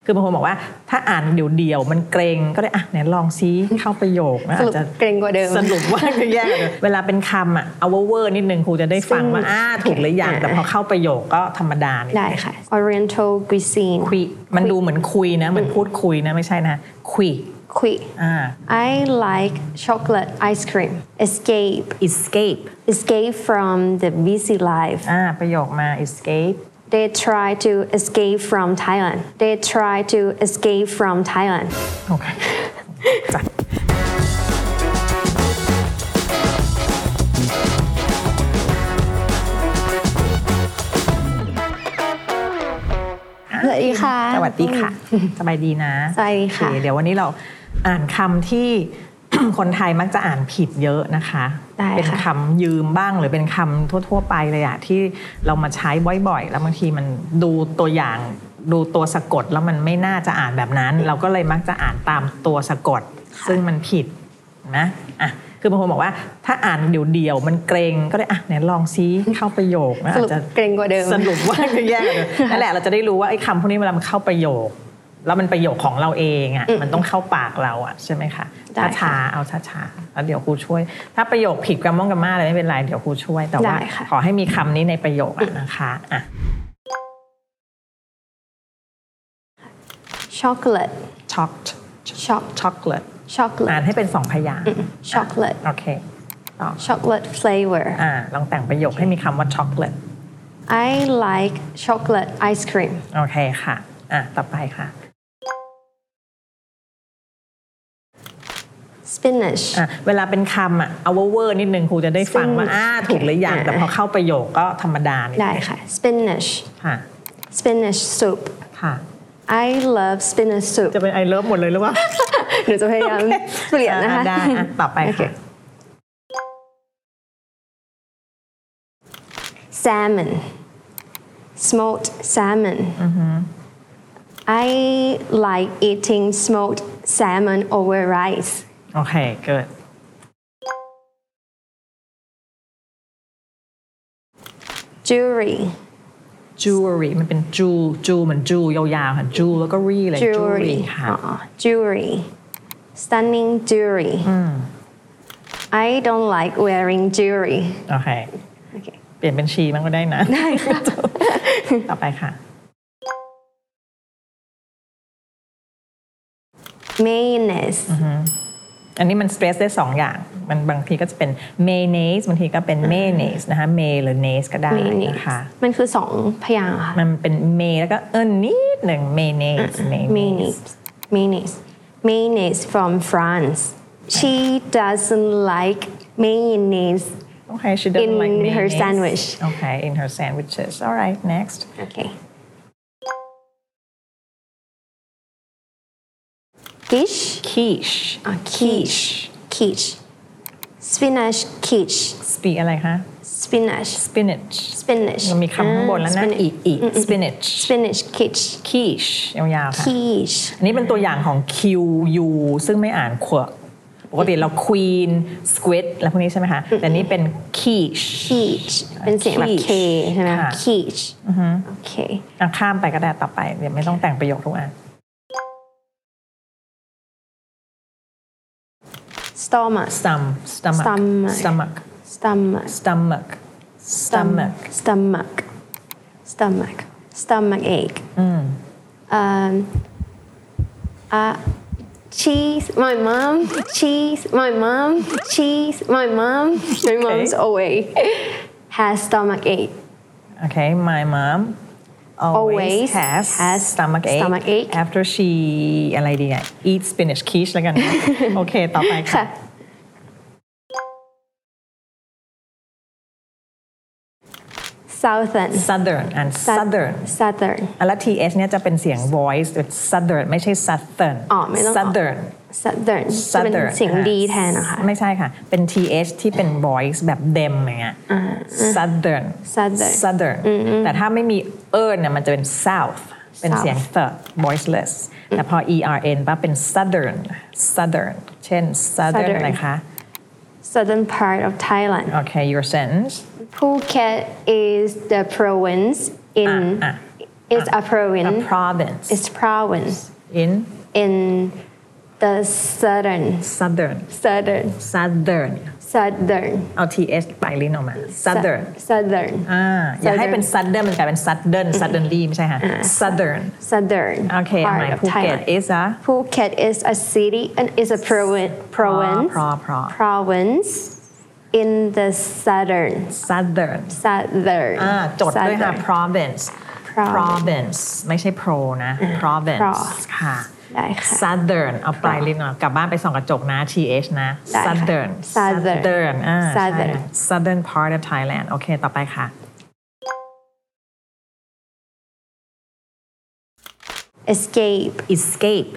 คือบางคนบอกว่าถ้าอ่านเดี่ยวๆมันเกรงก็ได้อ่ะไหนลองซิเข้าประโยคนะอาจจะเกรงกว่าเดิมสรุปว่าจะแย่กว่าเดิมเวลาเป็นคำอ่ะเอาเวอร์นิดนึงครูจะได้ฟังว่าถูกหรือยังแต่พอเข้าประโยคก็ธรรมดาได้ค่ะ Oriental cuisine คุยมันดูเหมือนคุยนะเหมือนพูดคุยนะไม่ใช่นะคุย I like chocolate ice cream escape from the busy life ประโยคมา escape They try to escape from Thailand โอเคสวัสดีค่ะสวัสดีค่ะสบายดีนะสวัสดีค่ะเดี๋ยววันนี้เราอ่านคำที่ คนไทยมักจะอ่านผิดเยอะนะคะเป็นคำยืมบ้างหรือเป็นคำทั่วๆไปเลยอะที่เรามาใช้บ่อยๆแล้วบางทีมันดูตัวอย่างดูตัวสะกดแล้วมันไม่น่าจะอ่านแบบนั้นเราก็เลยมักจะอ่านตามตัวสะกดซึ่งมันผิดนะอ่ะคือบางคนบอกว่าถ้าอ่านเดี่ยวๆมันเกรงก็ได้อ่ะไหนลองซิเข้าประโยคนะอาจจะเกรงกว่าเดิมสรุปว่าจะแย่กว่าเดิมนั่นแหละเราจะได้รู้ว่าไอ้คำพวกนี้เวลามันเข้าประโยคแล้วมันประโยคของเราเองอ่ะมันต้องเข้าปากเราอ่ะใช่ไหมคะช้าๆเอาช้าๆแล้วเดี๋ยวครูช่วยถ้าประโยคผิดกราม่าอะไรไม่เป็นไรเดี๋ยวครูช่วยแต่ว่าขอให้มีคำนี้ในประโยคนะคะอ่ะ chocolate chocolate อ่านให้เป็น2พยางค์ chocolate โอเค chocolate flavor ลองแต่งประโยคให้มีคำว่า chocolate I like chocolate ice cream โอเคค่ะต่อไปค่ะ spinach เวลาเป็นคำเอาเวอร์นิดนึงครูจะได้ฟังว่าถูกหรือยังแต่พอเข้าประโยคก็ธรรมดาได้ค่ะ spinach ค่ะ spinach soup ค่ะ I love spinach soup จะเป็น I love หมดเลยหรือเปล่าหนูจะพยายามเปลี่ยนนะคะได้ต่อไปค่ะ salmon smoked salmon I like eating smoked salmon over rice โอเคเกิด jewelry มันเป็นจูเหมือนจูยาวๆค่ะจูแล้วก็รีเลย jewelry ค่ะ jewelry stunning jewelry I don't like wearing jewelry โอเคเปลี่ยนเป็นชีมันก็ได้นะได้ค่ะต่อไปค่ะ mayonnaise อันนี้มันสเตรสได้2อย่างมันบางทีก็จะเป็น mayonnaise บางทีก็เป็น mayonnaise นะคะ may หรือ naise ก็ได้นะคะมันคือ2พยางค์ค่ะมันเป็น may แล้วก็นิดหนึ่ง mayonnaise from France she doesn't like mayonnaise Okay, she doesn't like mayonnaise. In her sandwich. Okay, in her sandwiches. All right, next. Okay. Quiche. Spinach quiche. อะไรคะ Spinach. มันมีคำข้างบนแล้วนะspinach quiche ยาวๆค่ะ Quiche อันนี้เป็นตัวอย่างของ QU ซึ่งไม่อ่านขวปกติเรา queen squid แล้วพวกนี้ใช่ไหมคะแต่นี้เป็น quiche เป็นเสียงแบบ K ใช่ไหม quiche โอเคข้ามไปก็ได้ต่อไปเดี๋ยวไม่ต้องแต่งประโยคทุกอัน stomach ache cheese my mom's always has stomach ache okay my mom always has stomach ache after she อะไรดีอ่ะ eat spinach quiche แล้วกันโอเคต่อไปค่ะ southern แล้ว th เนี่ยจะเป็นเสียง voice southern ไม่ใช่ southern ไม่ต้อง southern จะเป็นเสียงดีแทนนะคะไม่ใช่ค่ะเป็น th ที่เป็น voice แบบ dem อย่างเงี้ย southern แต่ถ้าไม่มีเนี่ยมันจะเป็น south เป็นเสียง the voiceless แต่พอ ern ปั๊บเป็น southern เช่น southern อะไรคะ southern part of Thailand okay your sentence Phuket is the province is a province. A province. It's province in the southern. southern เอา th ไปลิ้นออกมา southern southern อย่าให้เป็น southern มันกลายเป็น suddenly ไม่ใช่ค่ะ southern โอเค part หมาย of ภูเก็ต Thailand. is a Phuket is a city and is a province in the southern จดด้วยค่ะ province ไม่ใช่ pro นะ province ค่ะได้ค่ะ southern เอาปลายลิ้นออกกลับบ้านไปส่องกระจกนะ th นะ southern southern part of Thailand โอเคต่อไปค่ะ escape escape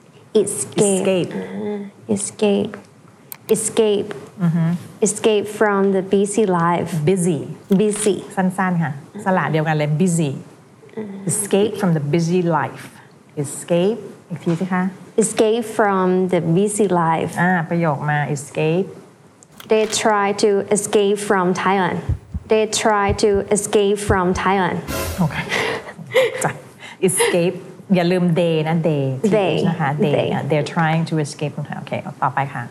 escape from the busy life busy สั้นๆค่ะสระเดียวกันเลย busy escape from the busy life escape อีกทีสิคะ escape from the busy life ประโยคมา escape they try to escape from Thailand โอเคจ้ะ escape อย่าลืม they นะ they นะคะ they're trying to escape from Thailand โอเคต่อไปค่ะ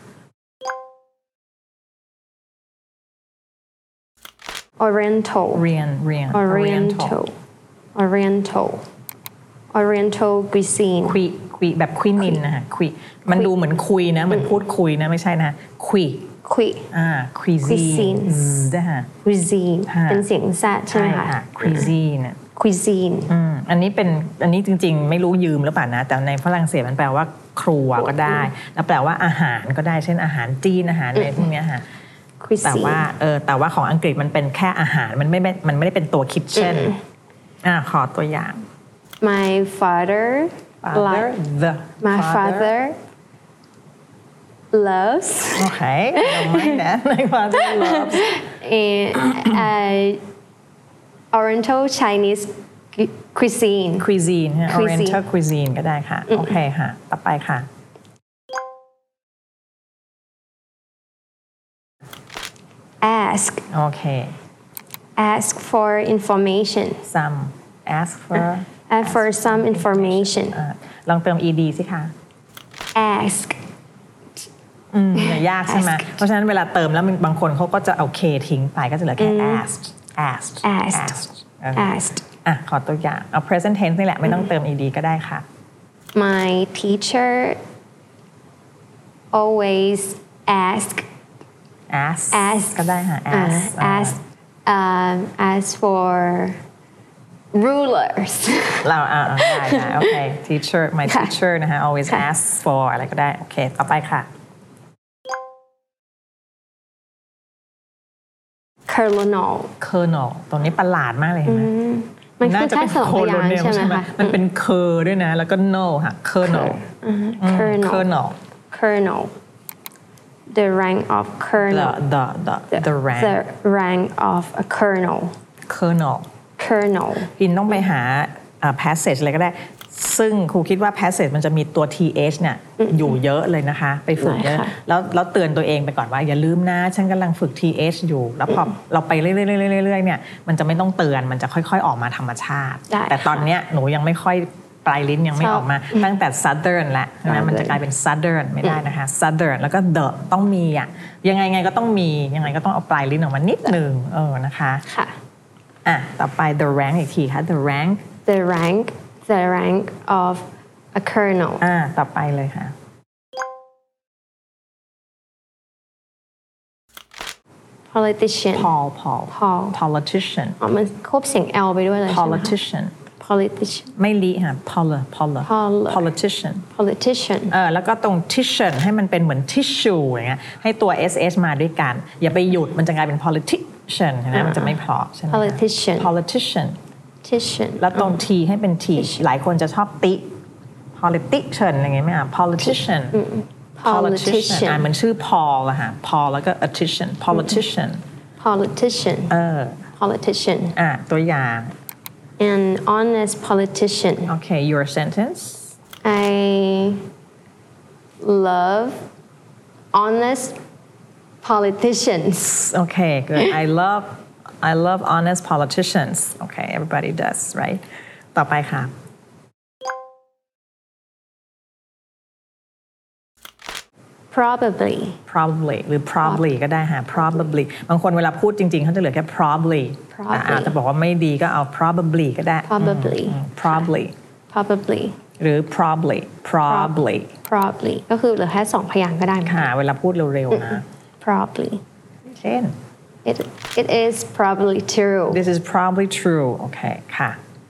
Oriental cuisine คุยแบบคุยนินนะคะคุยมันดูเหมือนคุยนะเหมือนพูดคุยนะไม่ใช่นะคุยcuisine นะคะ cuisine เป็นเสียงแซดใช่ไหมคะ cuisine อันนี้จริงๆไม่รู้ยืมหรือเปล่านะแต่ในฝรั่งเศสมันแปลว่าครัวก็ได้แล้วแปลว่าอาหารก็ได้เช่นอาหารจีนอาหารอะไรพวกนี้ค่ะแต่ว่าของอังกฤษมันเป็นแค่อาหารมันไม่ได้เป็นตัว kitchen ขอตัวอย่าง my father loves okay don't mind that my father loves Oriental Chinese cuisine Oriental cuisine ก็ได้ค่ะโอเคค่ะต่อไปค่ะ ask โอเค ask for information ask for some information ลองเติม ed สิคะ ask ยากใช่ไหมเพราะฉะนั้นเวลาเติมแล้วบางคนเขาก็จะเอา k ทิ้งไปก็จะเหลือแค่ asked ขอตัวอย่างเอา present tense นี่แหละไม่ต้องเติม ed ก็ได้ค่ะ my teacher always ask ก็ได้ค่ะ ask for rulers เราได้โอเค teacher my teacher นะคะ always asks for อะไรก็ได้โอเคต่อไปค่ะ kernel ตรงนี้ประหลาดมากเลยเห็นไหมมันคือแค่สองพยางค์ใช่ไหมคะมันเป็น ด้วยนะแล้วก็ no ค่ะ kernel the rank of kernel the rank of a kernel พินต้องไปหา passage อะไรก็ได้ซึ่งครูคิดว่า passage มันจะมีตัว th เนี่ยอยู่เยอะเลยนะคะไปฝึกเยอะแล้วเตือนตัวเองไปก่อนว่าอย่าลืมนะฉันกำลังฝึก th อยู่แล้วพอเราไปเรื่อยๆเนี่ยมันจะไม่ต้องเตือนมันจะค่อยๆออกมาธรรมชาติแต่ตอนเนี้ยหนูยังไม่ค่อยปลายลิ้นยังไม่ออกมาตั้งแต่ southern แล้วนะมันจะกลายเป็น southern ไม่ได้นะคะ southern แล้วก็ the ต้องมียังไงก็ต้องมียังไงก็ต้องเอาปลายลิ้นออกมานิดนึงนะคะต่อไป the rank อีกทีค่ะ the rank of a kernel ต่อไปเลยค่ะ politician politician มันควบเสียง l ไปด้วยเลย politician ไม่ลิค่ะ politician แล้วก็ตรง tissue ให้มันเป็นเหมือน tissue อย่างเงี้ยให้ตัว sh มาด้วยกันอย่าไปหยุดมันจะกลายเป็น politician นะมันจะไม่เพราะใช่ไหม politician แล้วตรง t ให้เป็น t หลายคนจะชอบติ politician อะไรเงี้ยไหมอ่ะ politician มันชื่อ Paul อะค่ะ Paul แล้วก็ politician ตัวอย่าง an honest politician okay your sentence I love honest politicians okay good I love honest politicians okay everybody does right ต่อไปค่ะ probably หรือ probably ก็ได้ค่ะ probably บางคนเวลาพูดจริงๆเขาจะเหลือแค่ probably อาจจะบอกว่าไม่ดีก็เอา probably ก็ได้ probably หรือ probably ก็คือเหลือแค่2พยางค์ก็ได้ค่ะเวลาพูดเร็วๆนะ probably เช่น it is probably true this is probably true โอเคค่ะ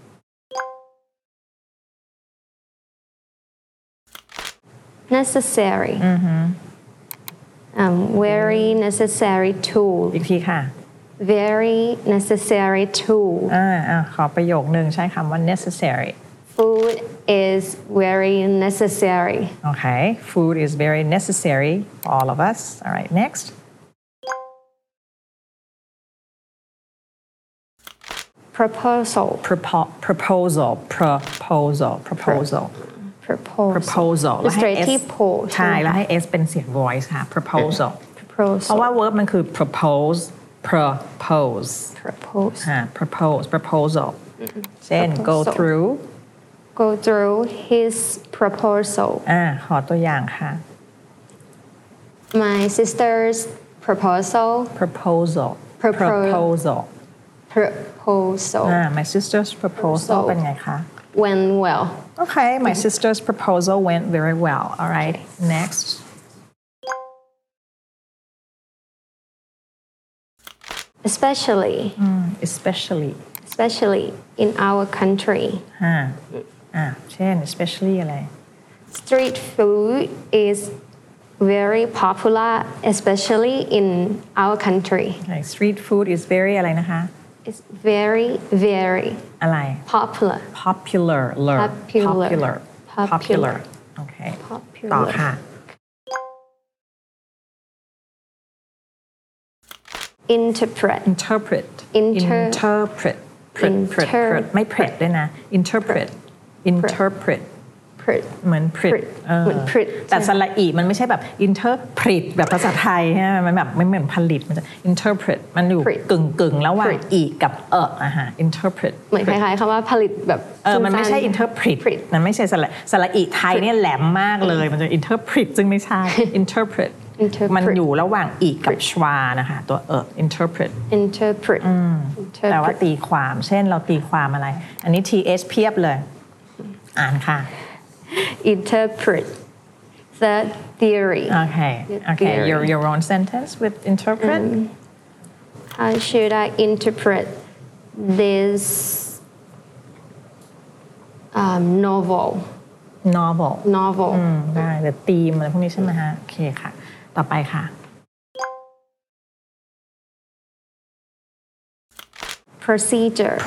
necessary very necessary tool อีกทีค่ะ very necessary tool ขอประโยคนึงใช้คำว่า necessary food is very necessary okay food is very necessary for all of us all right next proposal แล้วให้ s ใช่แล้วให้ s เป็นเสียง voice ค่ะ proposal เพราะว่า verb มันคือ proposalเช่น go through his proposal ขอตัวอย่างค่ะ my sister's proposal my sister's proposal เป็นไงคะ went well okay my sister's proposal went very well all right next especially in our country เช่น especially อะไร street food is very popular especially in our country street food is very อะไรนะคะ it's very อะไร popular โอเคต่อค่ะ interpret ไม่ pret ด้วยนะ interpret เหมือน pret แต่สระอีมันไม่ใช่แบบ interpret แบบภาษาไทยใช่ไหมมันแบบไม่เหมือนผลิตมันจะ interpret มันอยู่กึ่งระหว่างอีกับinterpret เหมือนคล้ายๆคำว่าผลิตแบบมันไม่ใช่ interpret มันไม่ใช่สระอีไทยเนี่ยแหลมมากเลยมันจะ interpret ซึ่งไม่ใช่ interpret มันอยู่ระหว่างอีกับชวานะคะตัวinterpret แต่ว่าตีความเช่นเราตีความอะไรอันนี้ th เพียบเลยอ่านค่ะ interpret the theory okay your own sentence with interpret how should I interpret this novel ได้หรือธีมอะไรพวกนี้ใช่ไหมฮะโอเคค่ะต่อไปค่ะ procedure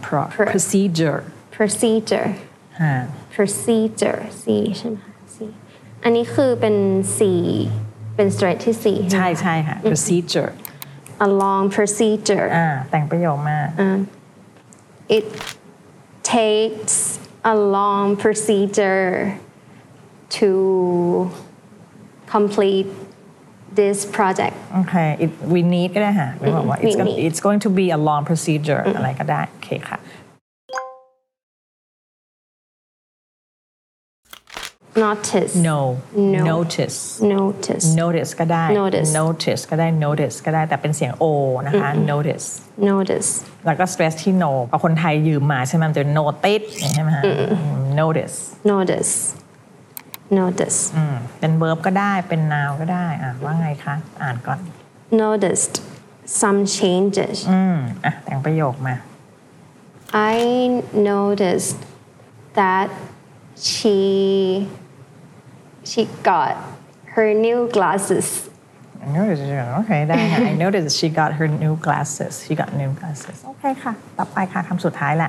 C ใช่ไหมคะ C อันนี้คือเป็น C เป็น straight ที่ C ใช่ค่ะ procedure a long procedure แต่งประโยคมา it takes a long procedure to complete this project okay we need ก็ได้ค่ะไม่บอกว่า it's going to be a long procedure อะไรก็ได้โอเคค่ะ notice notice ก็ได้ notice ก็ได้ notice ก็ได้แต่เป็นเสียง o นะคะ notice แล้วก็ stress ที่ no พอคนไทยยืมมาใช่ไหมมันจะ notice ใช่ไหมฮะ notice เป็น verb ก็ได้เป็น noun ก็ได้ว่าไงคะอ่านก่อน noticed some changes แต่งประโยคมา I noticed that she got her new glasses okay ได้ค่ะ I noticed she got her new glasses โอเคค่ะต่อไปค่ะคำสุดท้ายแหละ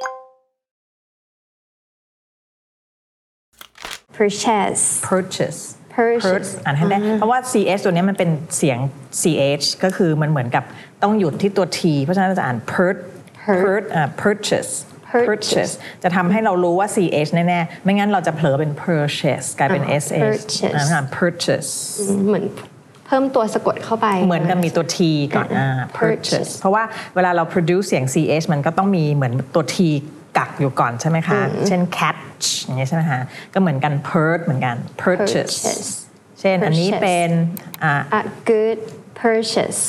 purchase อ่านให้ได้เพราะว่า ch ตัวนี้มันเป็นเสียง ch ก็คือมันเหมือนกับต้องหยุดที่ตัว t เพราะฉะนั้นเราจะอ่าน purchase จะทำให้เรารู้ว่า ch แน่ๆไม่งั้นเราจะเผลอเป็น purchase กลายเป็น sh purchase เหมือนเพิ่มตัวสะกดเข้าไปเหมือนกับมีตัว t ก่อนpurchase เพราะว่าเวลาเรา produce เสียง ch มันก็ต้องมีเหมือนตัว t กักอยู่ก่อนใช่ไหมคะเช่น catch อย่างเงี้ยใช่ไหมคะก็เหมือนกัน purge เหมือนกัน purchase เช่นอันนี้เป็น a good purchase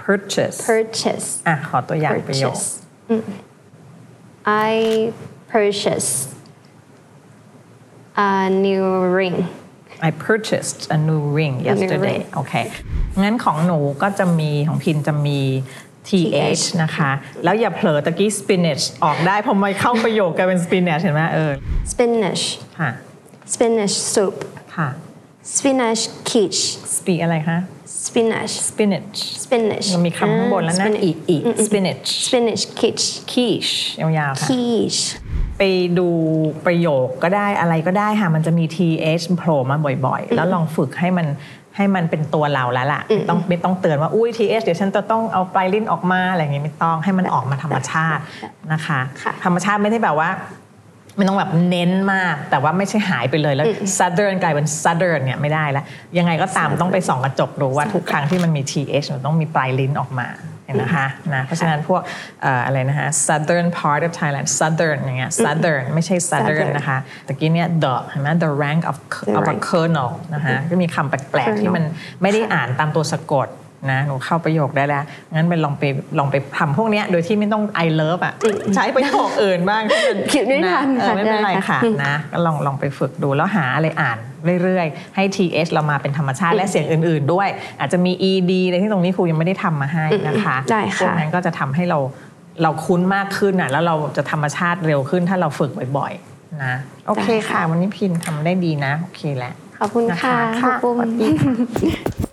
ขอตัวอย่างประโยค I purchased a new ring I purchased a new ring yesterday โอเคงั้นของหนูก็จะมีของพินจะมี th นะคะแล้วอย่าเผลอตะกี้ spinach ออกได้พอมาเข้าประโยคกลายเป็น spinach เห็นไหม spinach ค่ะ spinach soup ค่ะ spinach quiche อะไรคะ spinach มันมีคำข้างบนแล้วนะอีก spinach quiche ยาวๆค่ะ quiche ไปดูประโยคก็ได้อะไรก็ได้ค่ะมันจะมี th โผล่มาบ่อยๆแล้วลองฝึกให้มันเป็นตัวเราแล้วล่ะไม่ต้องเตือนว่าอุ้ย th เดี๋ยวฉันจะต้องเอาปลายลิ้นออกมาอะไรอย่างงี้ไม่ต้องให้มันออกมาธรรมชาตินะคะธรรมชาติไม่ได้แบบว่าไม่ต้องแบบเน้นมากแต่ว่าไม่ใช่หายไปเลยแล้ว southern กลายเป็น southern เนี่ยไม่ได้แล้วยังไงก็ตามต้องไปส่องกระจกดูว่าทุกครั้งที่มันมี th มันต้องมีปลายลิ้นออกมาเห็นนะคะนะเพราะฉะนั้นพวกอะไรนะคะ southern part of Thailand southern อย่างเงี้ย southern ไม่ใช่ southern นะคะตะกี้เนี่ย the เห็นไหม the rank of a colonel นะคะก็มีคำแปลกๆที่มันไม่ได้อ่านตามตัวสะกดนะหนูเข้าประโยคได้แล้วงั้นไปลองไปทำพวกนี้โดยที่ไม่ต้อง I love อ่ะใช้ประโยคอื่นบ้างที่มันคิดไม่ทันไม่เป็นไรค่ะนะก็ลองไปฝึกดูแล้วหาอะไรอ่านเรื่อยๆให้ th เรามาเป็นธรรมชาติและเสียงอื่นๆด้วยอาจจะมี ed อะไรที่ตรงนี้ครูยังไม่ได้ทำมาให้นะคะพวกนั้นก็จะทำให้เราคุ้นมากขึ้นอ่ะแล้วเราจะธรรมชาติเร็วขึ้นถ้าเราฝึกบ่อยๆนะโอเคค่ะวันนี้พินทำได้ดีนะโอเคแหละขอบคุณค่ะขอบคุณค่ะ